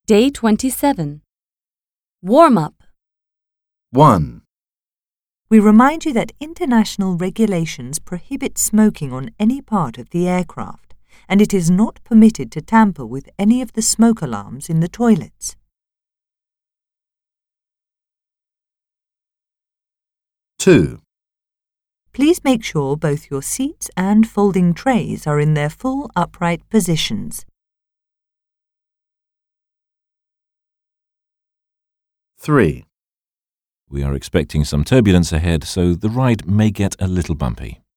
Day 27. Warm-up. 1. We remind you that international regulations prohibit smoking on any part of the aircraft, and it is not permitted to tamper with any of the smoke alarms in the toilets. 2. Please make sure both your seats and folding trays are in their full upright positions. 3. We are expecting some turbulence ahead, so the ride may get a little bumpy.